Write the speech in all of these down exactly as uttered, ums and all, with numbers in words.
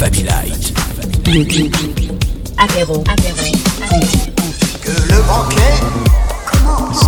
Family Light. Musique. Apéro. Apéro. Que le banquet commence.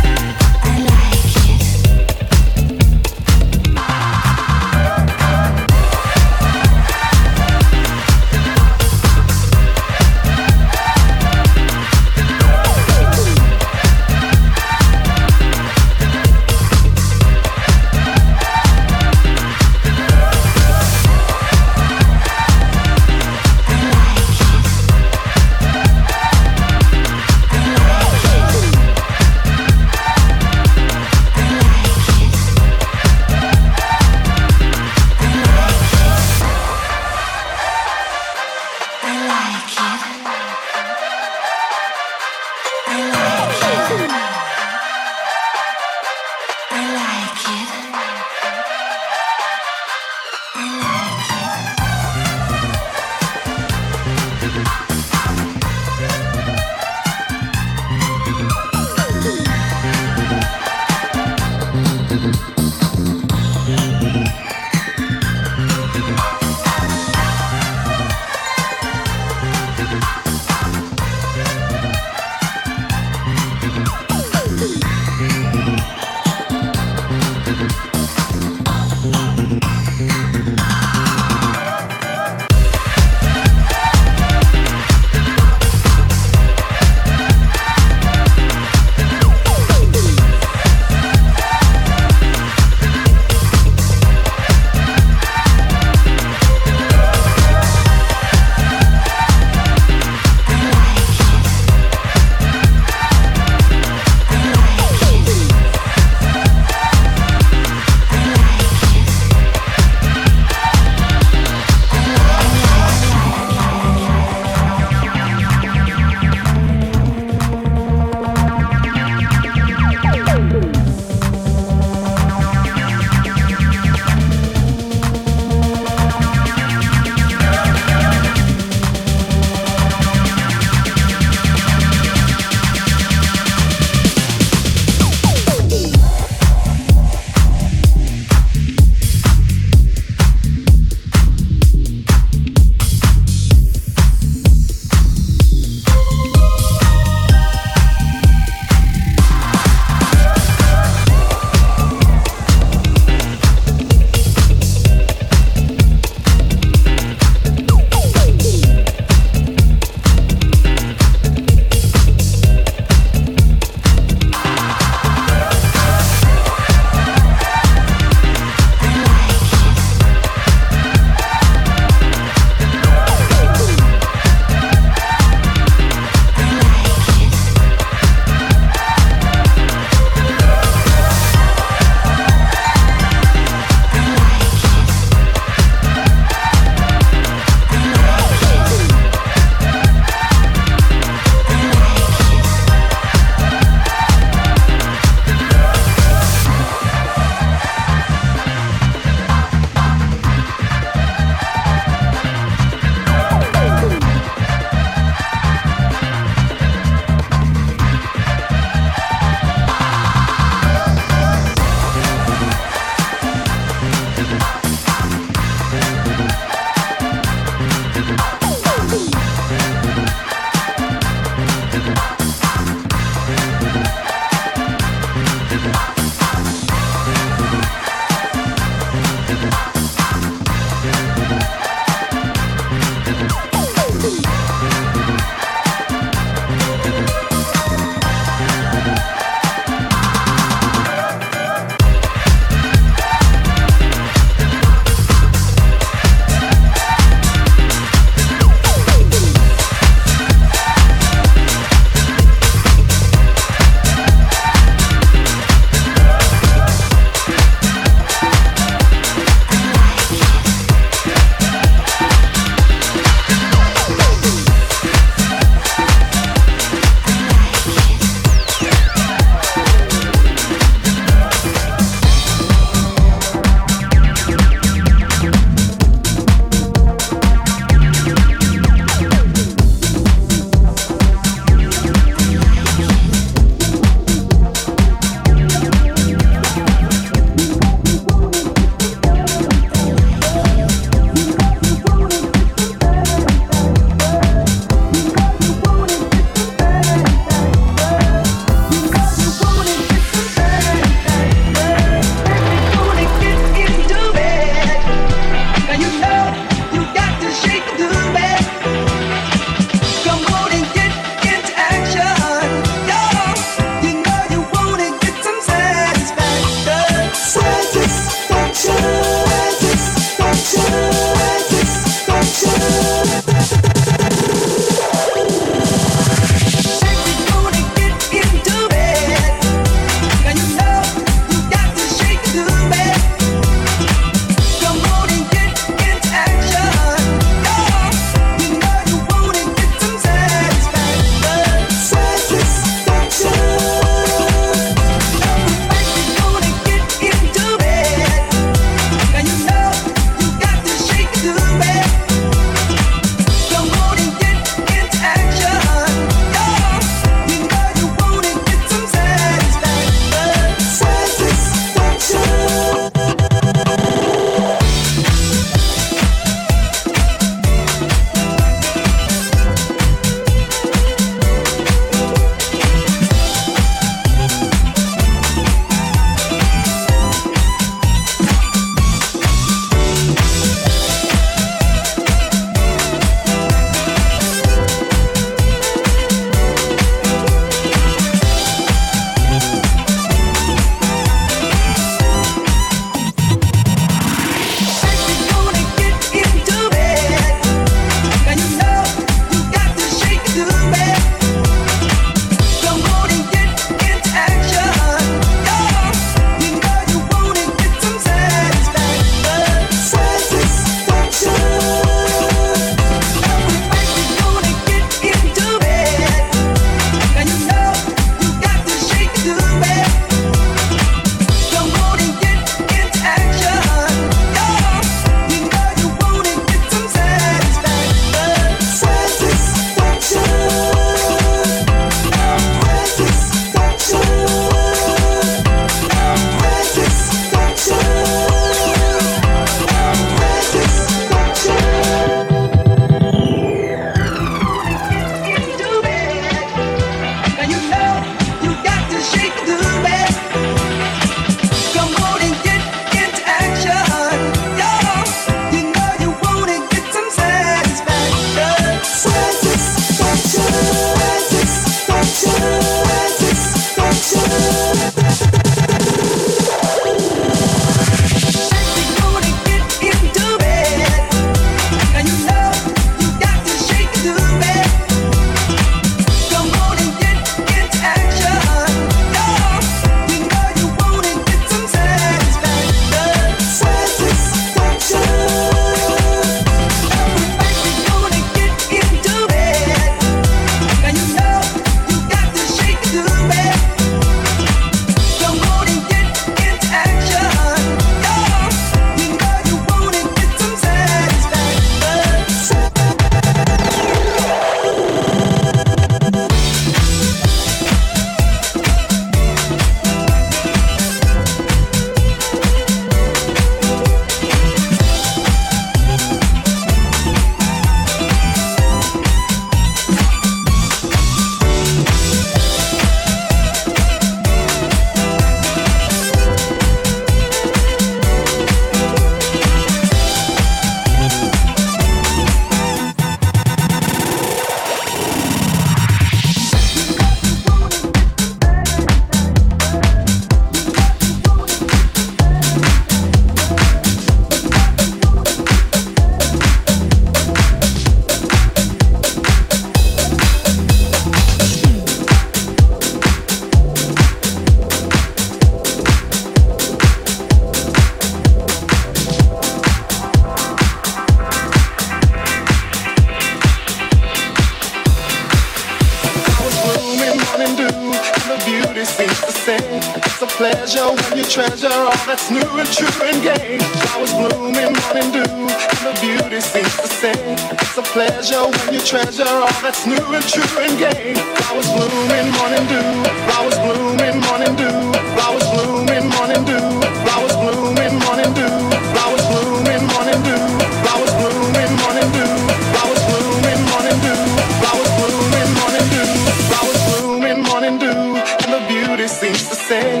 beauty seems to say it's a pleasure when you treasure all that's new and true and gay. Flowers bloom in morning dew, and the beauty seems to say it's a pleasure when you treasure all that's new and true and gay. Flowers bloom in morning dew, flowers bloom in morning dew, flowers bloom in morning dew, flowers bloom in morning dew, flowers bloom in morning dew, flowers bloom in morning dew, flowers bloom in morning dew, flowers bloom in morning dew, flowers bloom in morning dew, and the beauty seems to say.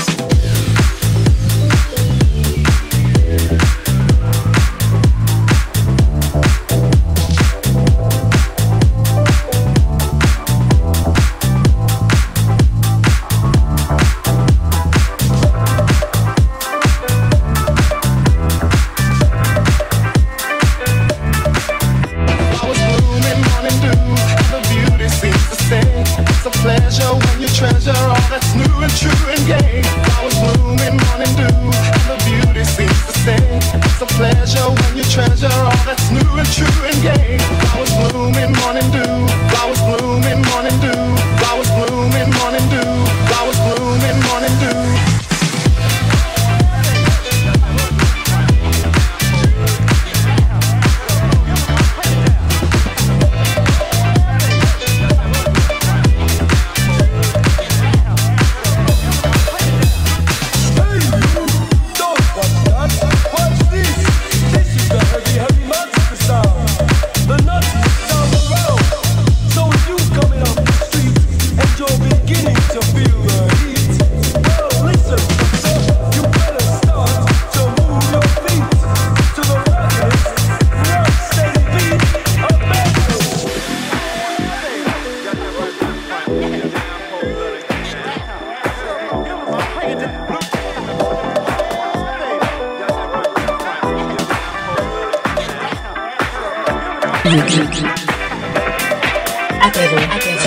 Apéro, apéro,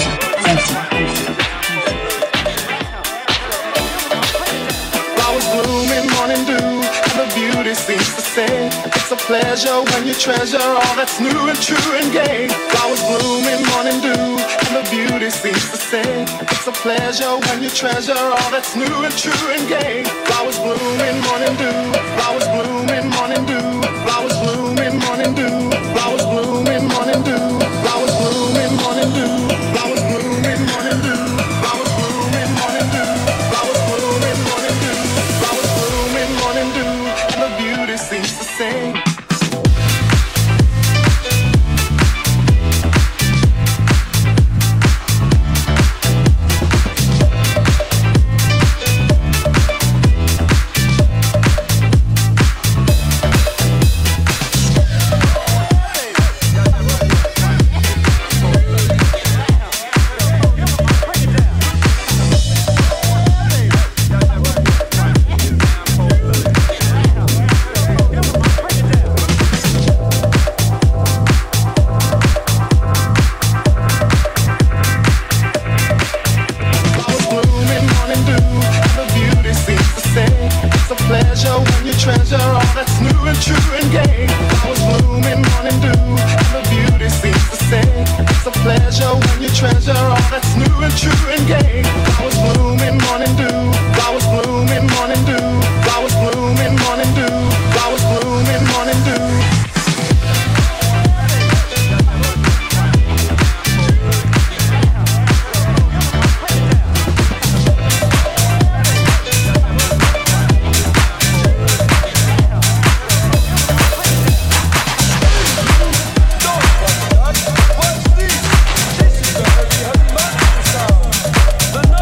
flowers bloom in morning dew, and the beauty seems to say it's a pleasure when you treasure all that's new and true and gay. Flowers bloom in morning dew, and the beauty seems to say it's a pleasure when you treasure all that's new and true and gay. Flowers bloom in morning dew, flowers bloom in morning dew, flowers bloom in morning dew, flowers bloom in morning dew, flowers bloom in morning dew, flowers bloom in morning dew, flowers bloom in morning dew, flowers bloom in morning dew, flowers bloom in morning dew, and the beauty seems to say. The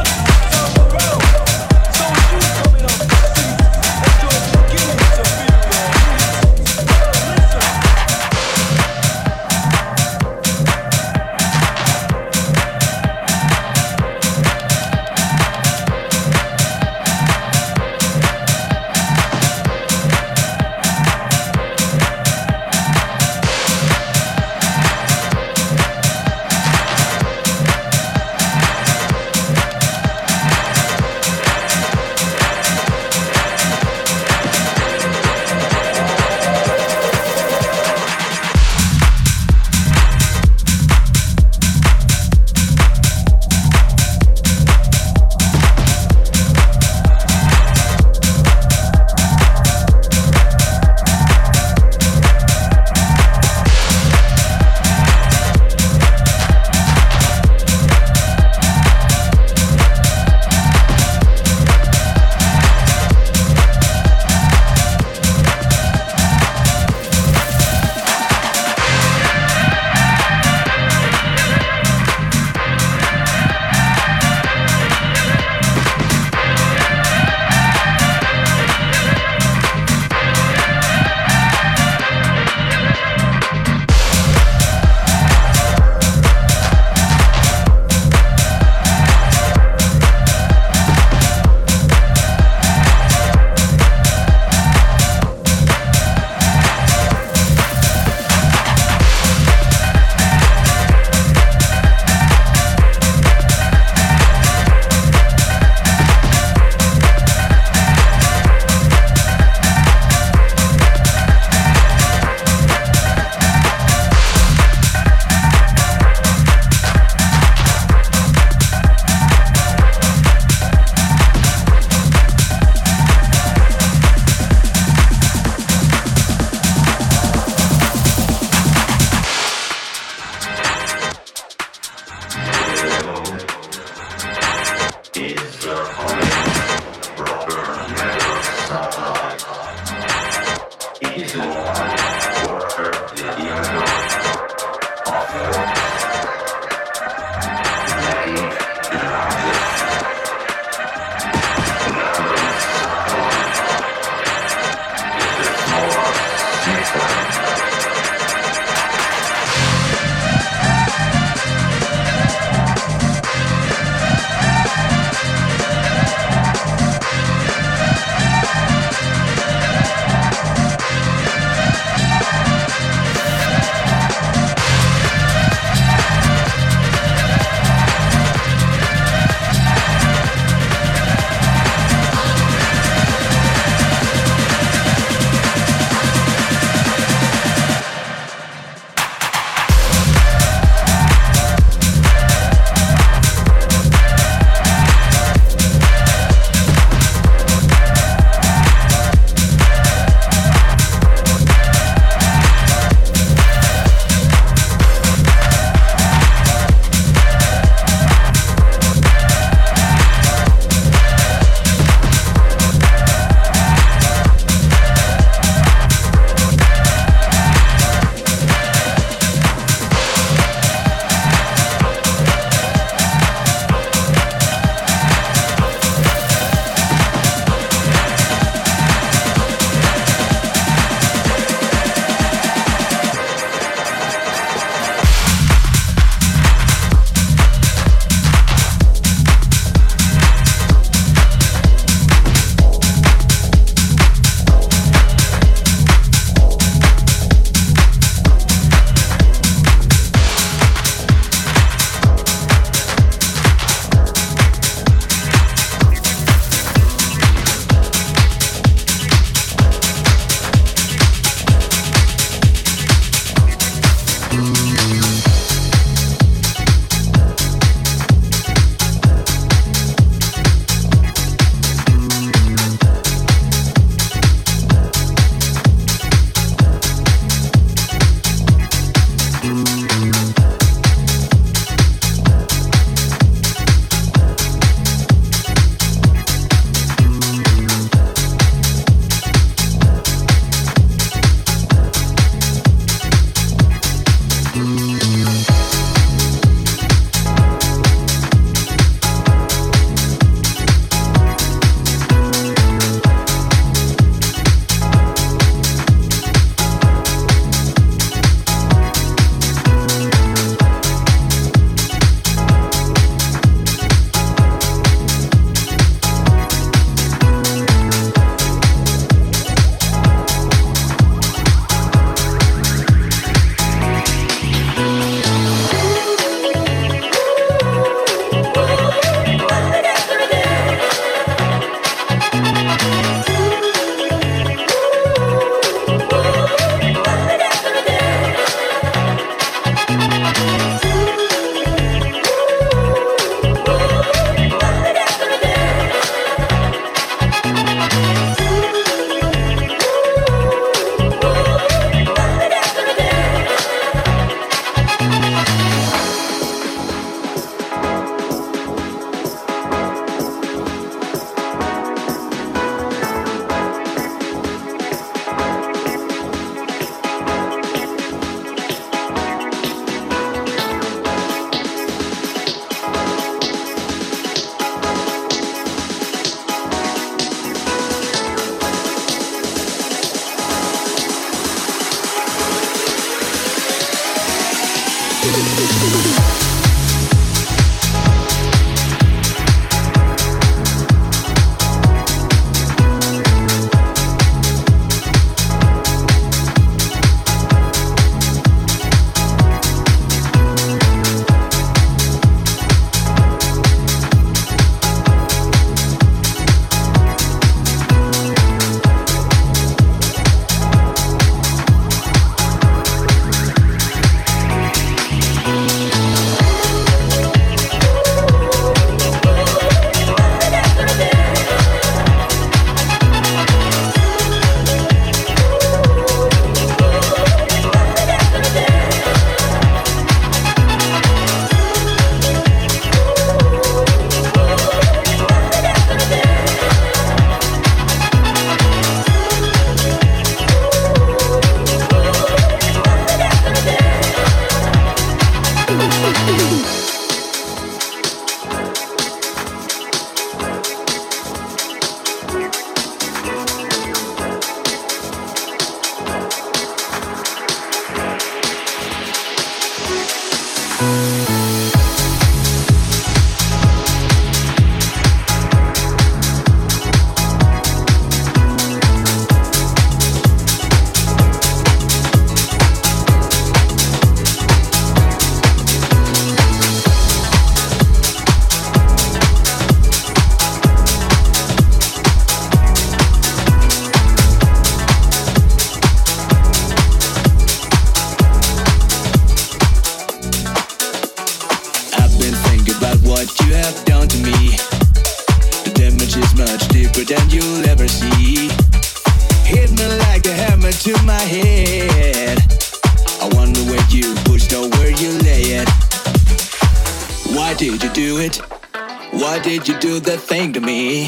have done to me. The damage is much deeper than you'll ever see. Hit me like a hammer to my head. I wonder where you pushed or where you lay it. Why did you do it? Why did you do that thing to me?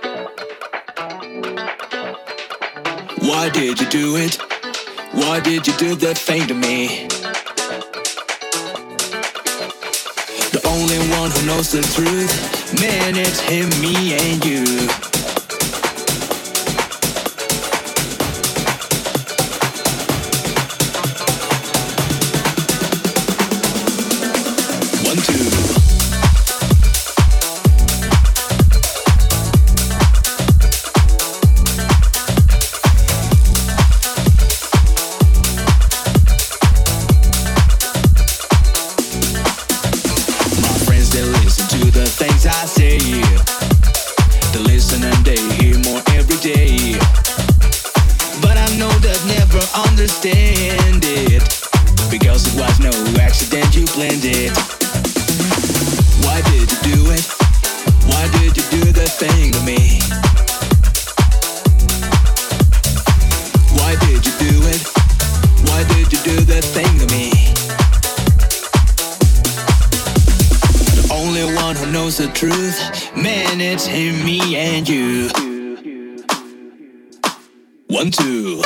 Why did you do it? Why did you do that thing to me? The only one who knows the truth, man, it's him, me, and you. Understand it, because it was no accident, you planned it. Why did you do it? Why did you do that thing to me? Why did you do it? Why did you do that thing to me? The only one who knows the truth, man, it's him, me, and you. One, two.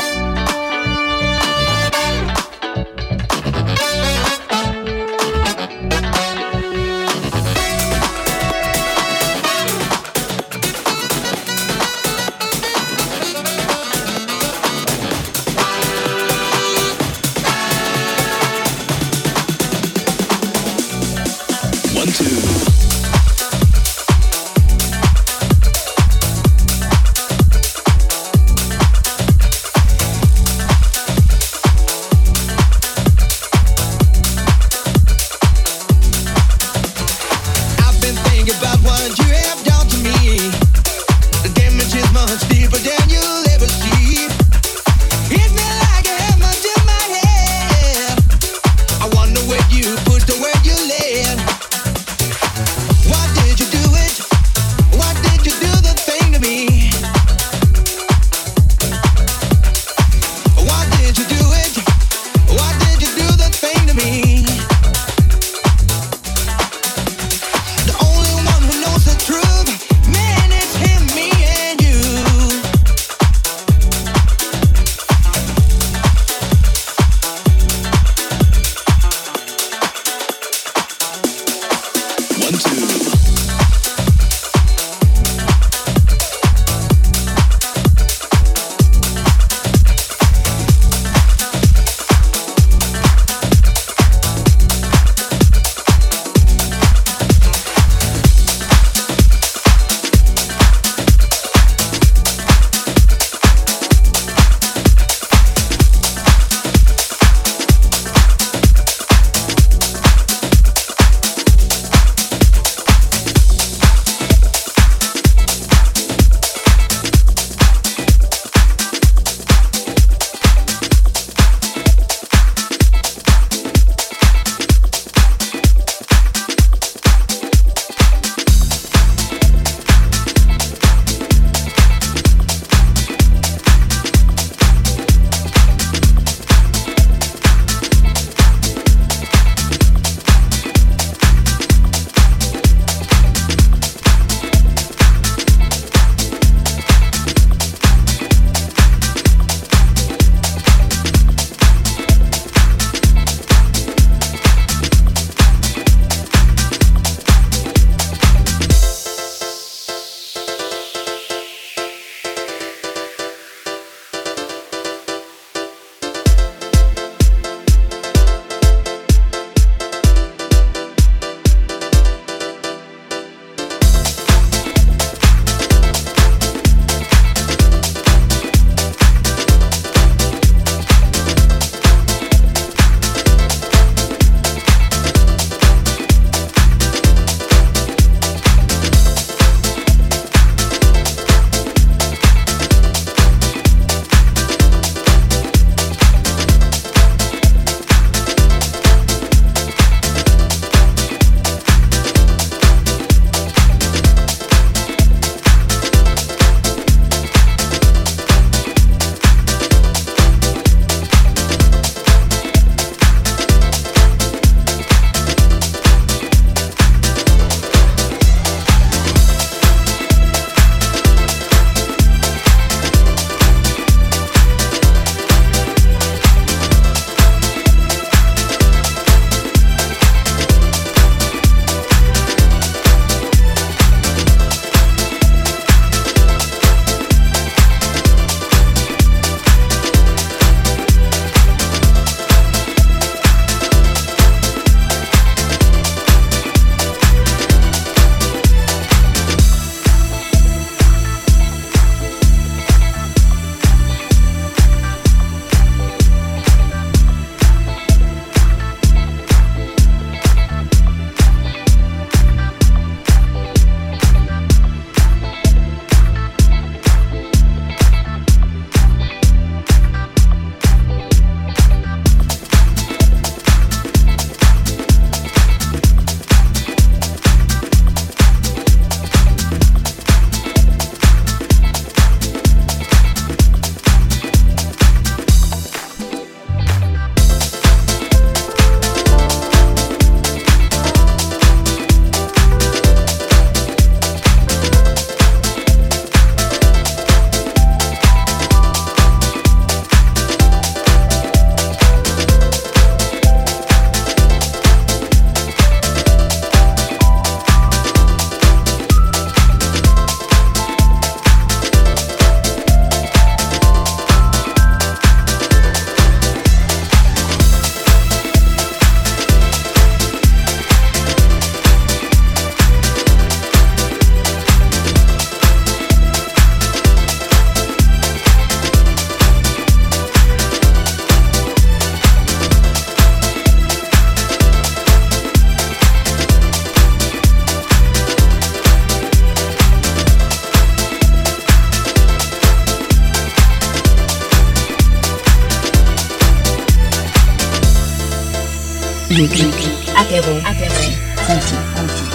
Beauty. Apéro. Apéro. Conti. Conti.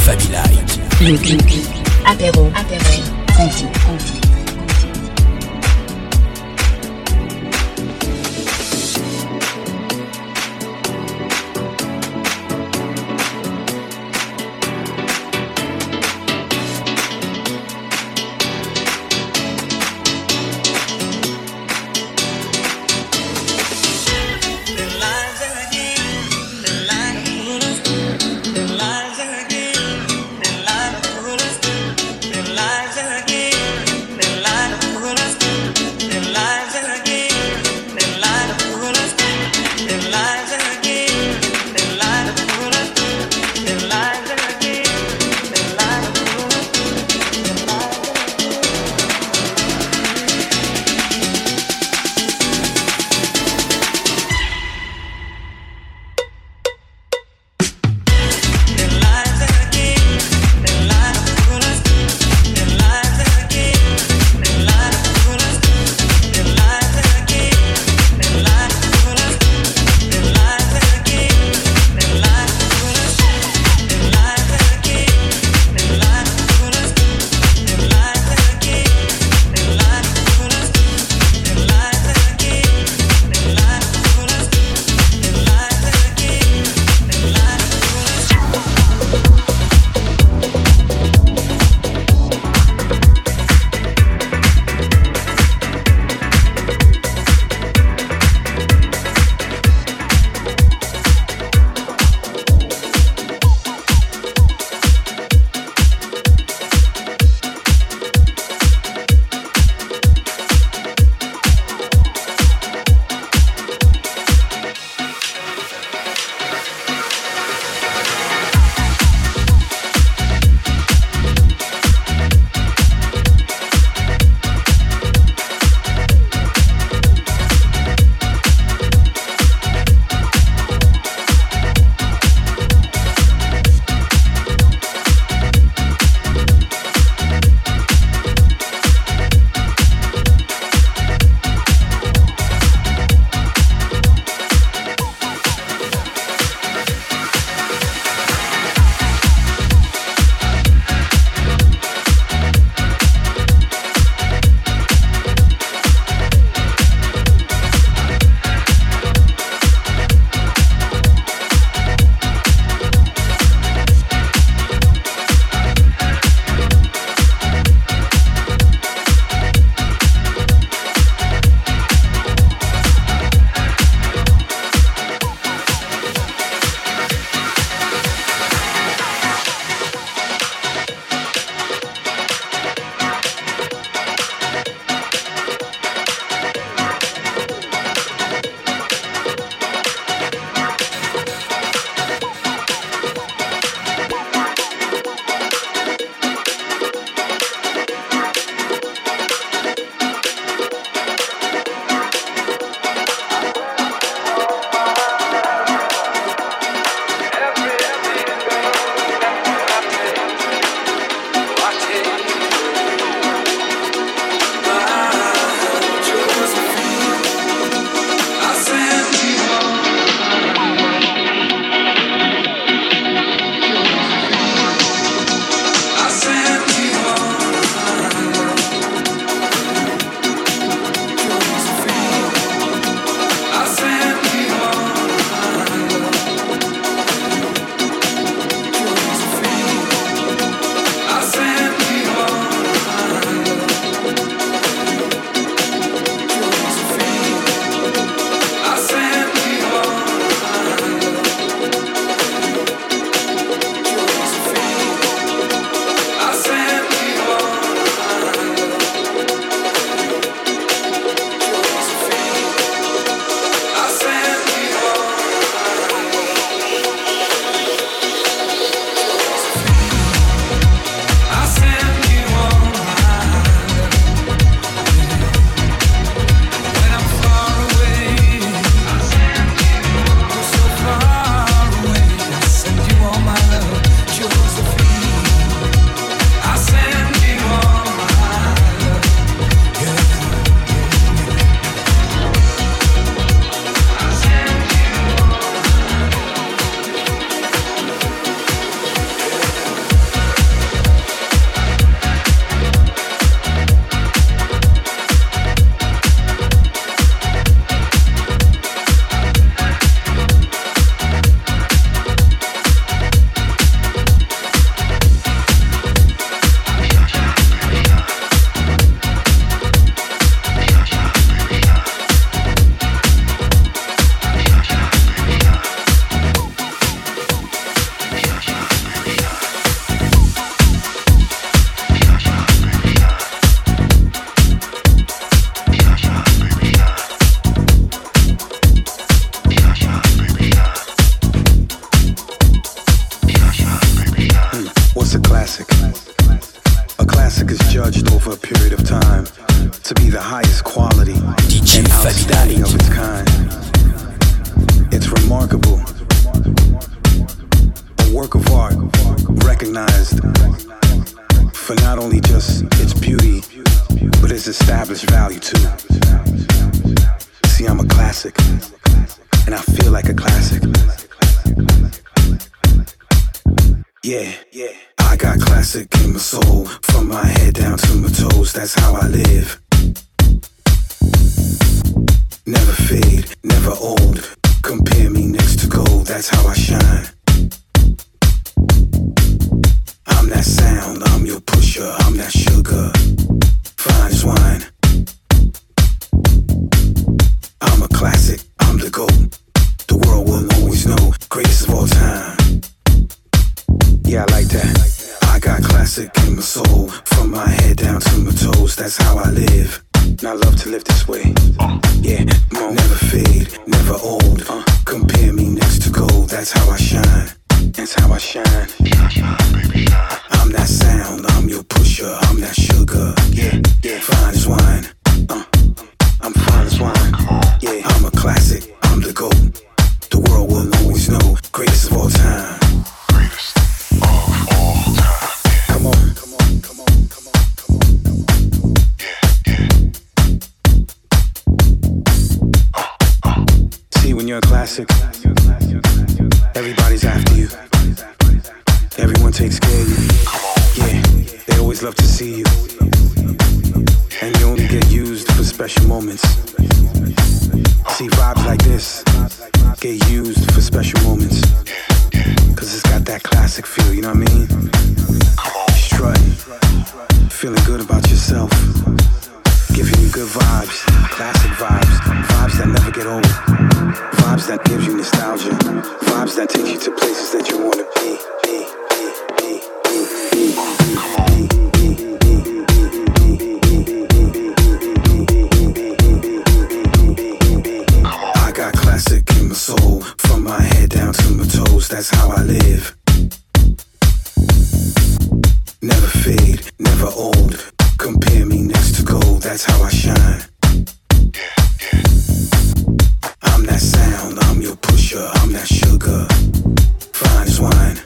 Fabi Light. Le clic. Apéro. Apéro. Conti. Conti. Lies again. over a period of time to be the highest quality and outstanding of its kind. It's remarkable. A work of art recognized for not only just its beauty, but its established value too. See, I'm a classic, and I feel like a classic. Yeah, yeah. I got classic in my soul, from my head down to my toes, that's how I live. Never fade, never old, compare me next to gold, that's how I shine. I'm that sound, I'm your pusher, I'm that sugar, fine as wine. I'm a classic, I'm the GOAT, the world will always know, greatest of all time. Yeah, I like that. I got classic in my soul, from my head down to my toes, that's how I live. And I love to live this way. Uh, yeah, come on. Never fade, never old. Uh, compare me next to gold, that's how I shine. That's how I shine. Shine, shine, baby, shine. I'm that sound, I'm your pusher, I'm that sugar. Yeah, yeah, fine as wine. Uh, I'm fine as wine. Yeah, I'm a classic, I'm the GOAT. The world will always know, greatest of all time. Greatest of all time. Come on, come on, come on, come on, come on, come on. Yeah, yeah. Uh, uh. See, when you're a classic, everybody's after you. Everyone takes care of you. Yeah, they always love to see you. And you only get used for special moments. See, vibes like this get used for special moments. Cause it's got that classic feel, you know what I mean? Strutting, feeling good about yourself, giving you good vibes, classic vibes, vibes that never get old, vibes that gives you nostalgia, vibes that take you to places that you wanna be. I got classic in my soul, from my head down to my toes, that's how I live. Never fade, never old, compare me next to gold, that's how I shine. I'm that sound, I'm your pusher, I'm that sugar, fine as wine.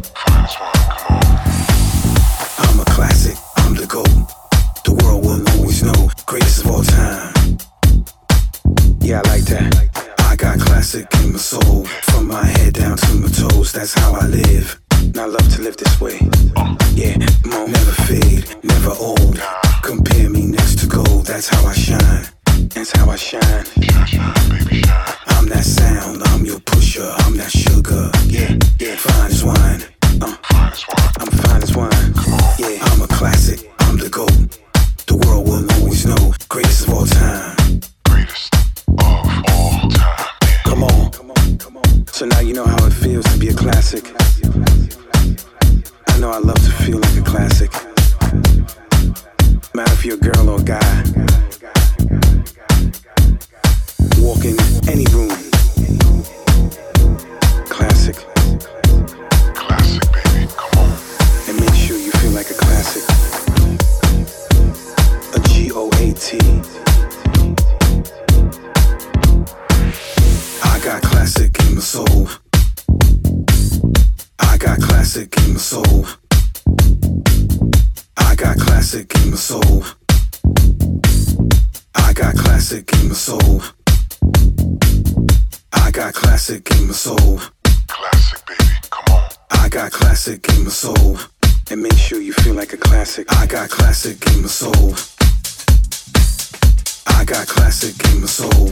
I'm a classic, I'm the GOAT, the world will always know, greatest of all time. Yeah, I like that. I got classic in my soul, from my head down to my toes, that's how I live. And I love to live this way. Yeah, come on. Never fade, never old, compare me next to gold, that's how I shine. That's how I shine. I'm that sound, I'm your pusher, I'm that sugar. Yeah, yeah, fine as wine. Uh, I'm fine as wine. Yeah, I'm a classic, I'm the GOAT. The world will always know, greatest of all time. Greatest of all time. Come on. So now you know how it feels to be a classic. I know I love to feel like a classic. Matter if you're a girl or a guy. Walk in any room. Classic. Classic, baby, come on. And make sure you feel like a classic. A G O A T. I got classic in my soul. I got classic in my soul. I got classic in my soul. I got classic in my soul. I got classic in my soul. Classic, baby, come on. I got classic in my soul. And make sure you feel like a classic. I got classic in my soul. I got classic in my soul.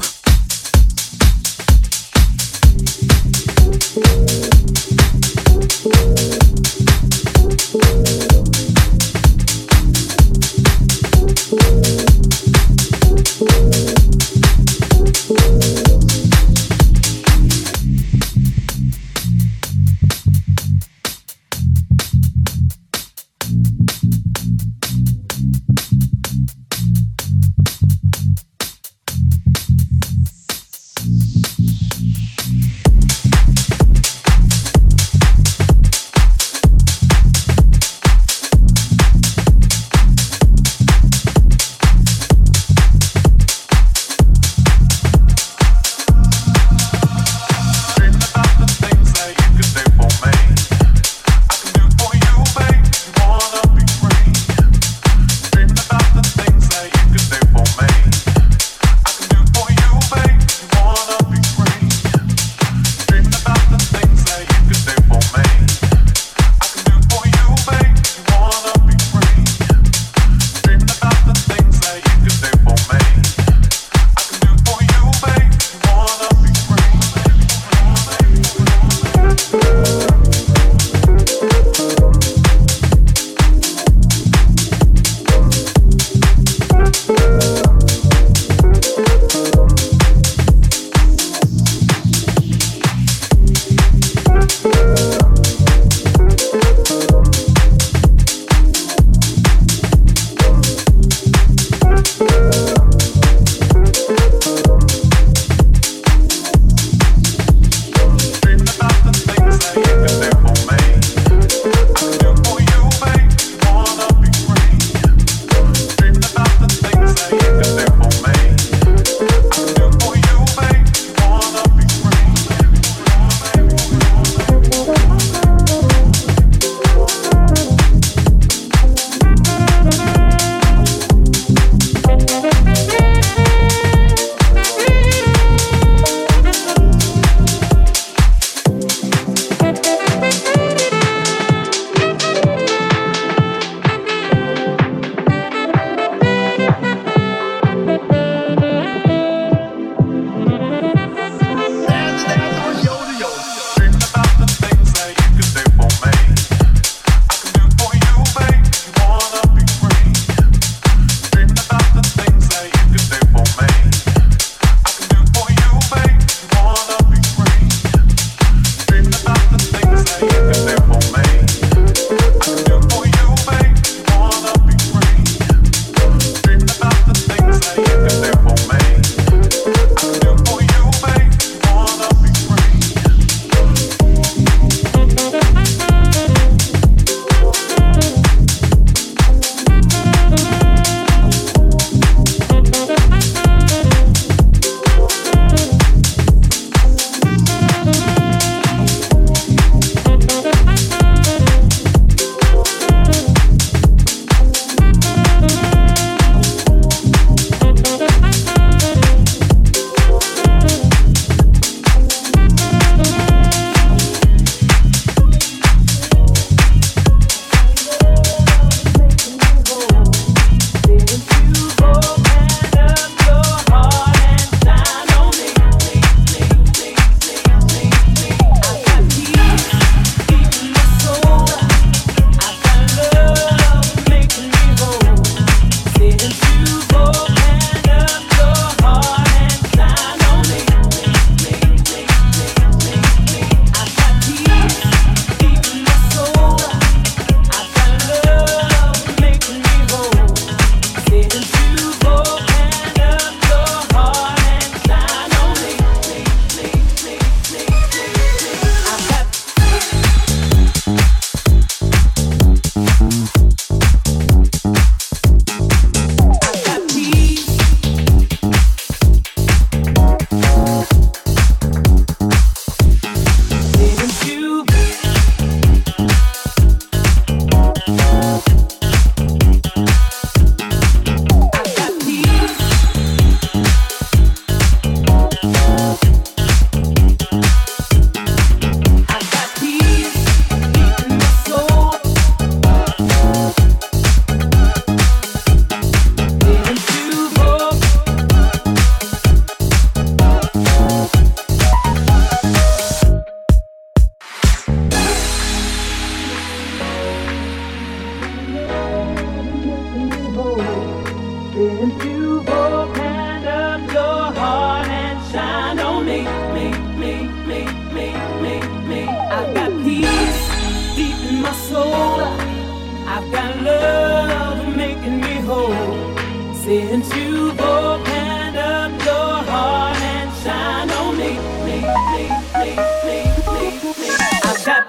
Since you've opened up your heart and shine on me, me, me, me, me, me, me. I've got,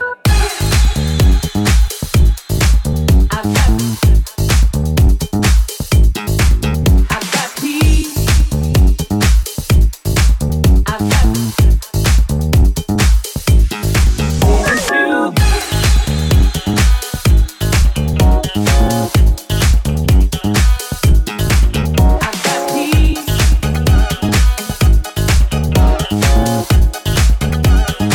I've got, I've got peace. I've got since you. I've got peace.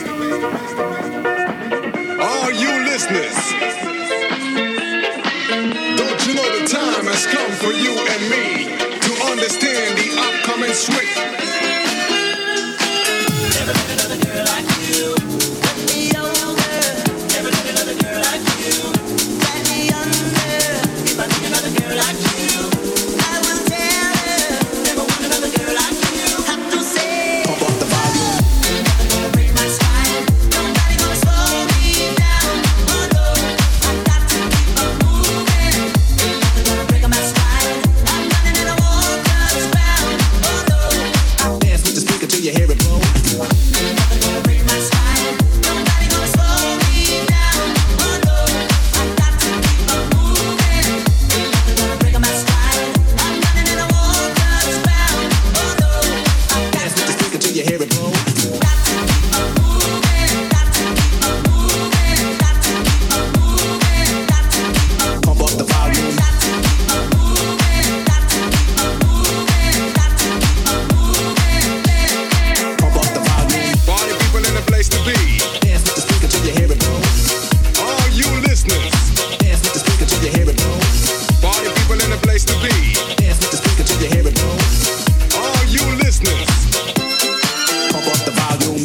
All you listeners, don't you know the time has come for you and me to understand the upcoming switch? Never met another girl like you. Let me over. Never met another girl like you. Let me under. If I meet another girl like you, I will tell her. Never want another girl like you. Have to say, pump up the volume. Nothing gonna break my spine. Nobody gonna slow me down. Oh no, I got to keep on moving. Nothing gonna break my spine. I'm running and I won't touch ground. Oh no, I dance with the speaker till you hear it blow. Nothing gonna break my spine. Nobody gonna slow me down. Oh no, I got to keep on moving. Nothing gonna break my spine. I'm running and I won't touch ground. Oh no, I dance with the speaker till you hear it blow. Got to keep on moving. Got to keep on moving. Got to keep on moving. Got to keep on pump up the volume. Got to keep on moving. Got to keep on moving. Got to keep on moving. Pump up the volume. Party people in the place to be. Dance with the speaker till you hear it blow. All you listeners, dance with the speaker till you hear it blow. Party people in the place to be. Dance with the speaker till you hear it blow. All you listeners, pump up the volume.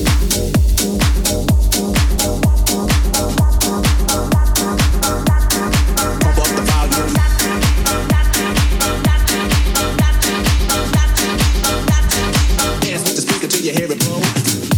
Pump up the volume. Dance with the speaker till you hear it blow.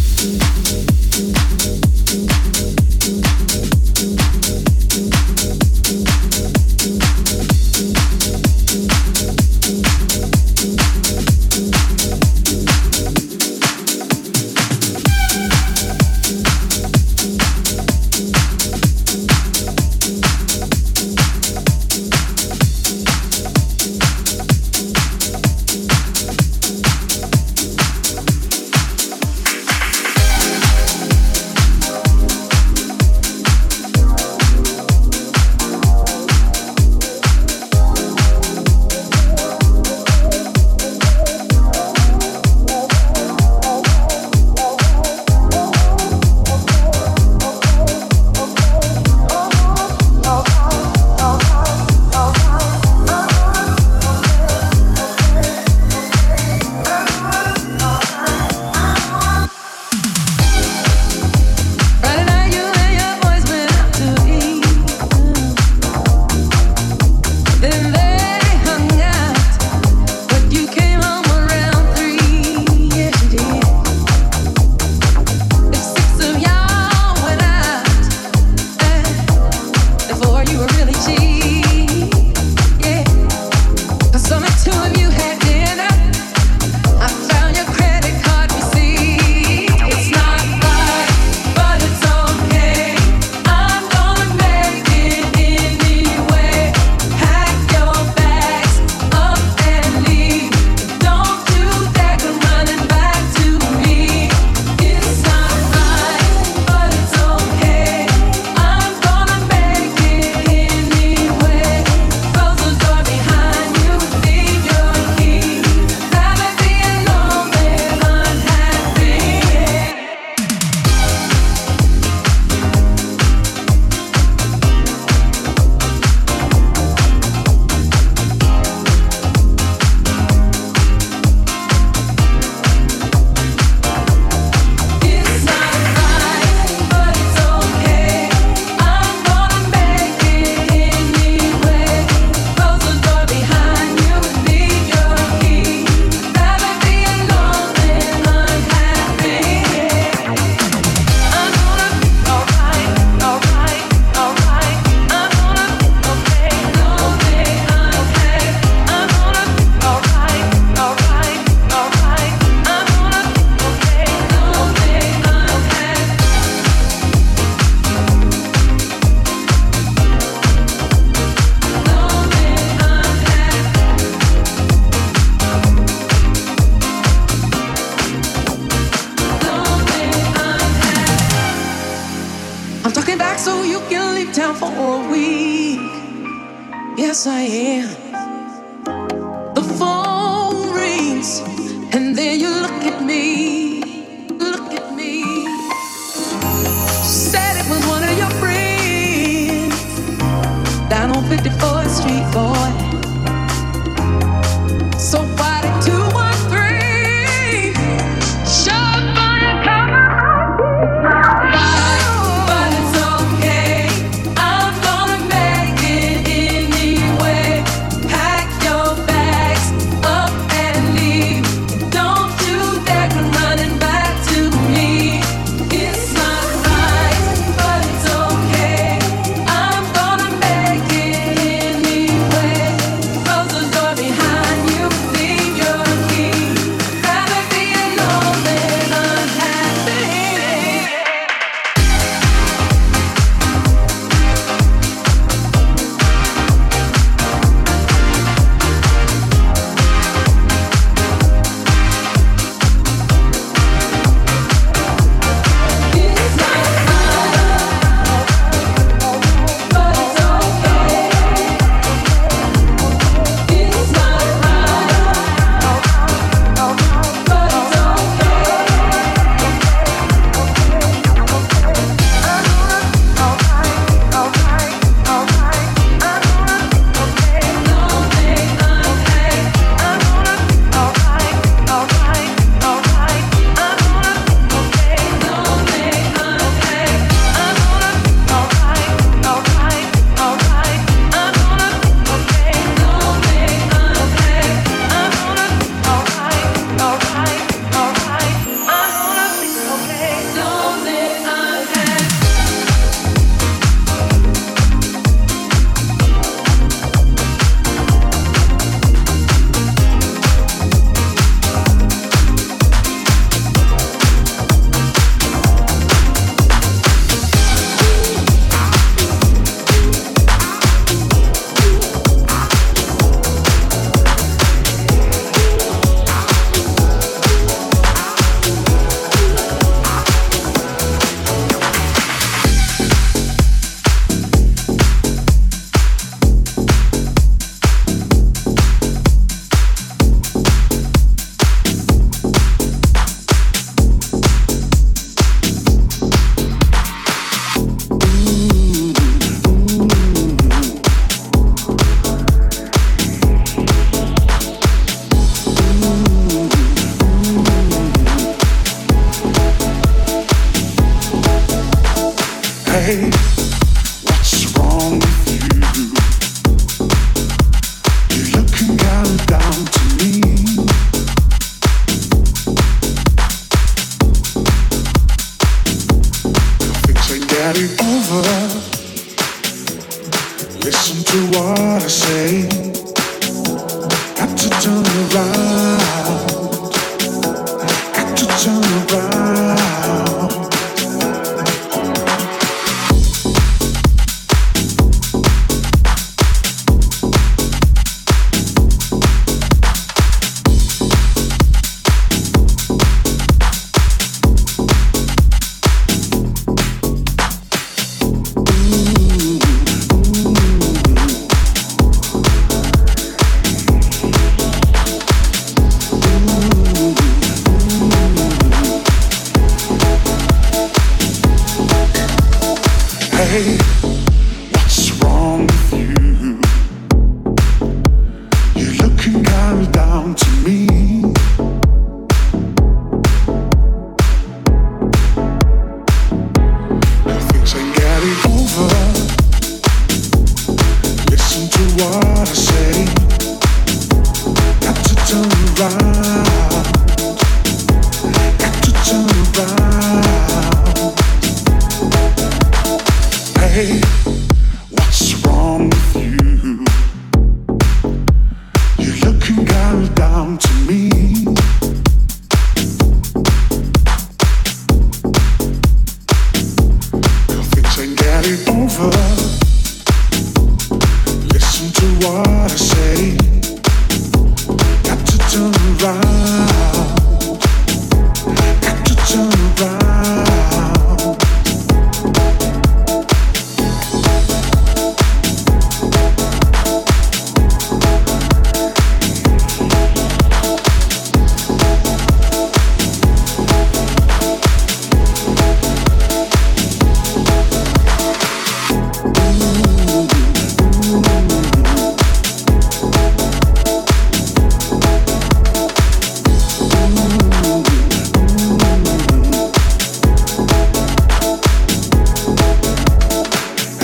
yes I am. The phone rings, and then you look at me, look at me. on fifty-fourth Street, boy. So why did two one three shove by and cover right, but it's okay. I'm gonna make it anyway. Pack your bags up and leave. Don't you dare come running back to me. It's not right, but it's okay. I'm gonna make it anyway. Close the door behind you, leave your key. Rather be alone than unhappy. It's not right, but it's okay. It's not right, but it's Hey, what's wrong with you? You're looking kind of down to me. Things ain't getting over. Listen to what I say. Got to turn around. Got to turn around. Hey, what's wrong with you? You're looking kind of down to me. Things ain't getting over. Listen to what I say. Got to turn around. Got to turn around. Hey, what's wrong with you? You're looking kind of down to me. Things ain't getting over. Listen to what I say. Got to turn around. Got to turn around. Ooh.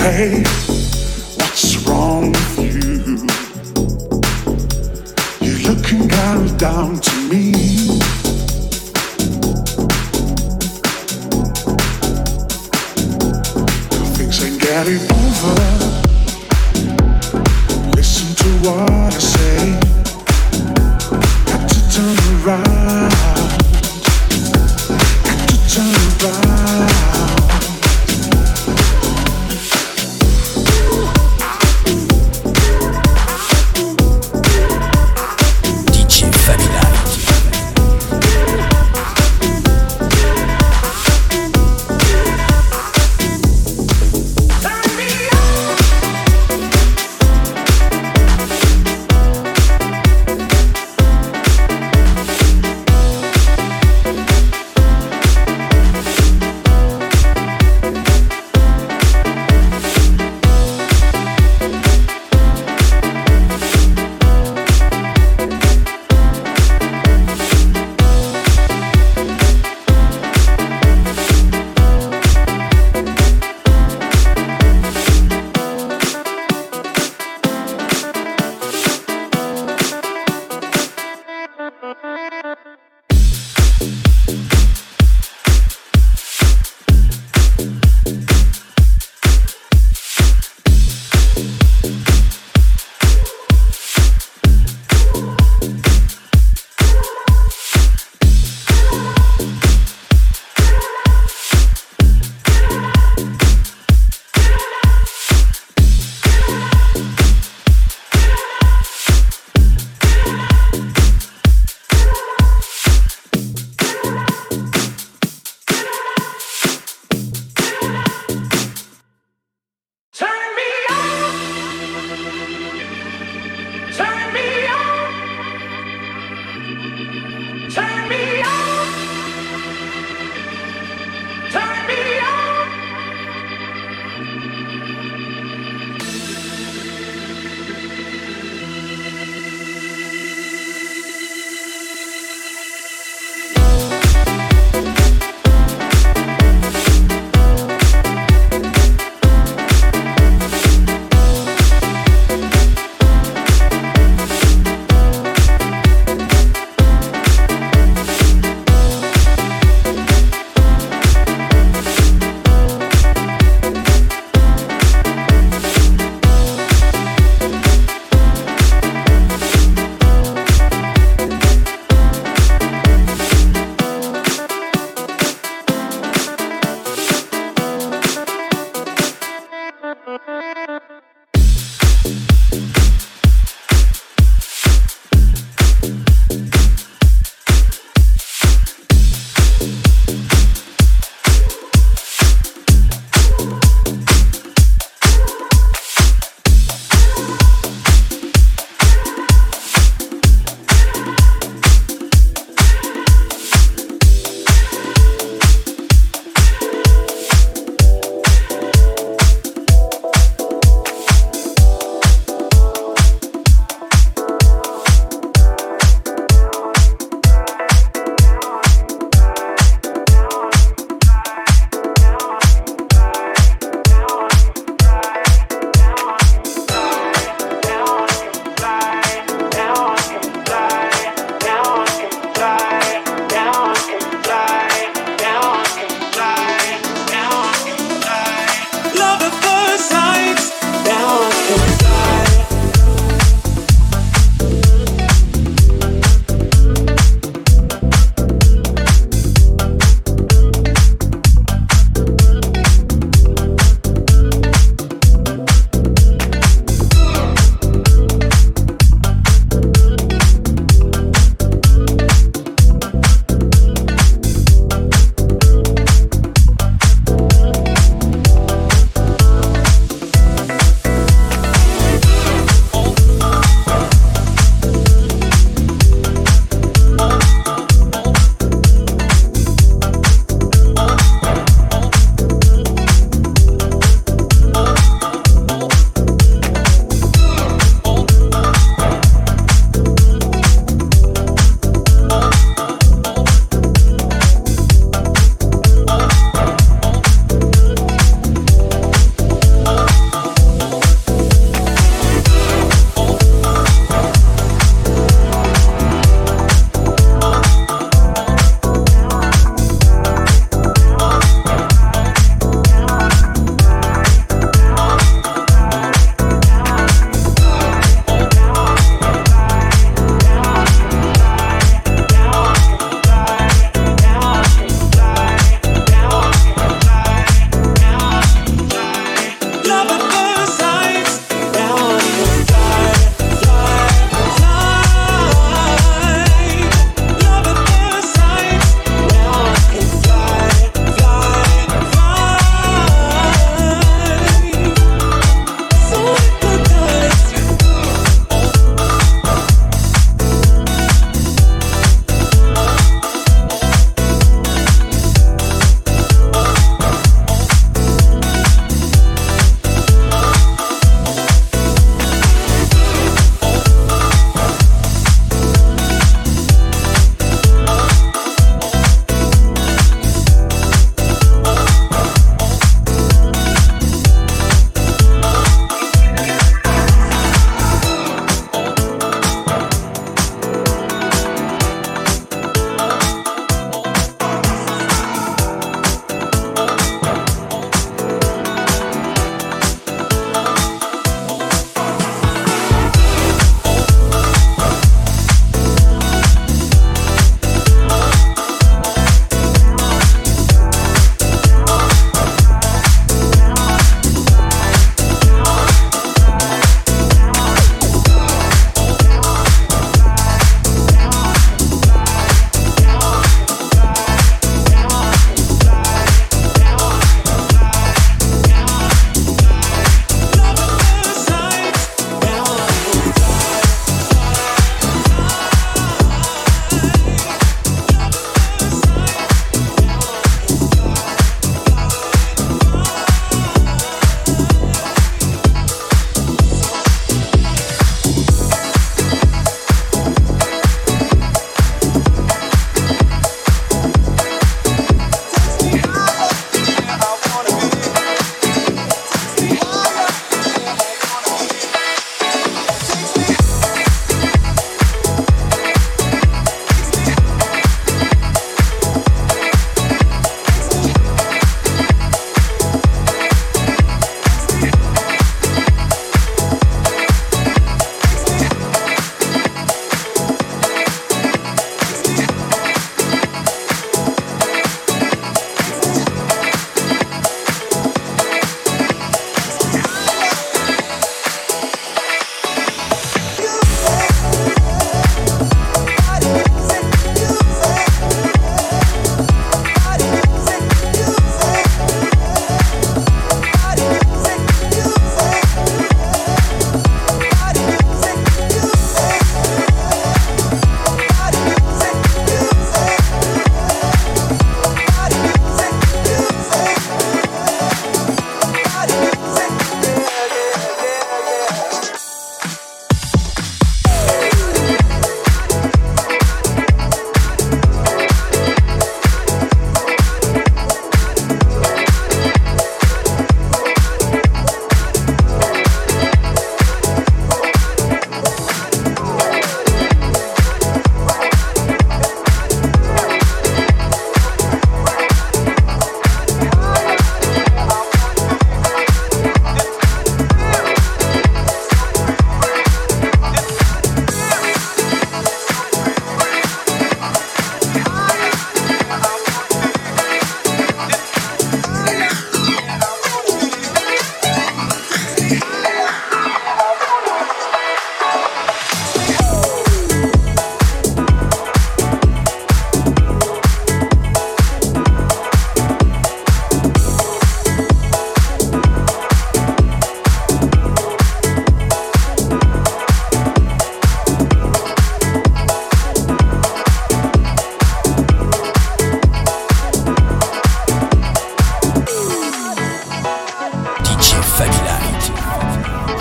Hey, what's wrong with you? You're looking kind of down to me. Things ain't getting over. Listen to what I say. Got to turn around. Got to turn around. Turn me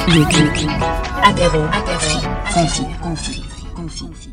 Le clip. Apéro. Apéro. Confi. Confi. Confi.